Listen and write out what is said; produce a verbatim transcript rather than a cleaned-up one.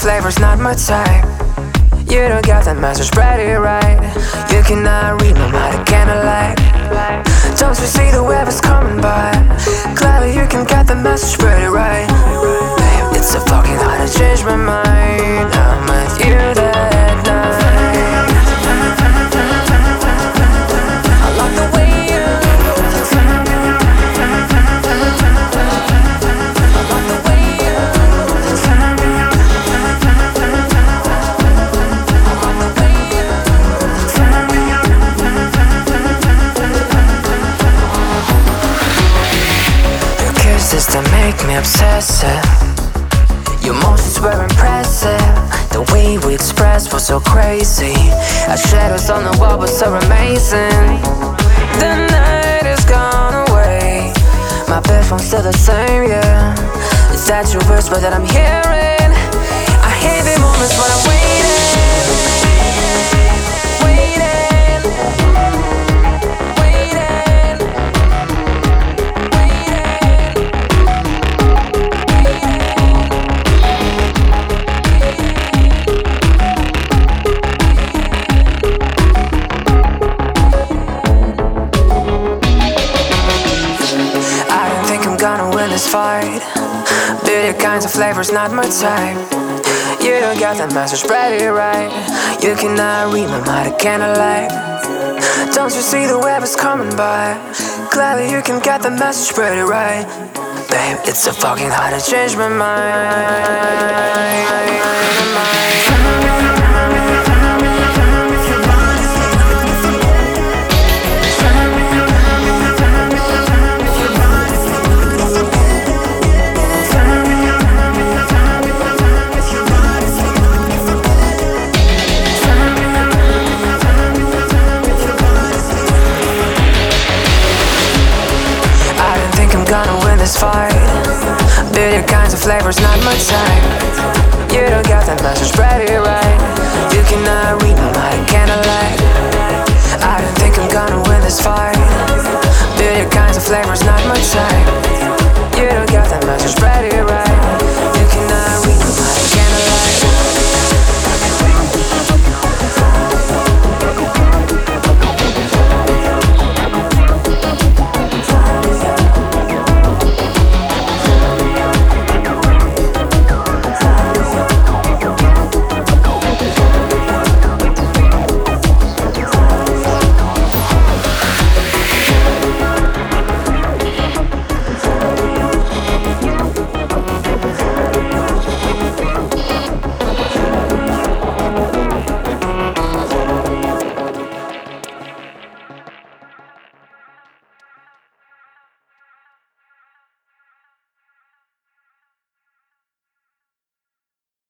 flavor's not my type. You don't got that message pretty right. You cannot read my mind, I cannot lie. Don't you see the web is coming by? Clearly you can get the message pretty right. Babe, it's so fucking hard to change my mind. I'm with you that night. I love the way you to make me obsessive. Your emotions were impressive. The way we expressed was so crazy. Our shadows on the wall were so amazing. The night is gone away. My bedroom's still the same, yeah. Is that your whisper that I'm hearing? I hate the moments when I'm waiting. Gonna win this fight. Bitter kinds of flavors not my type. You don't got that message pretty right. You cannot read my mind, I cannot lie. Don't you see the web is coming by? Clearly you can get the message pretty right. Babe, it's so fucking hard to change my mind. Gonna win this fight. Bitter kinds of flavors not my type. You don't got that message pretty right. You cannot read my mind, I cannot lie. I don't think I'm gonna win this fight. Bitter kinds of flavors not my type. You don't got that message pretty right.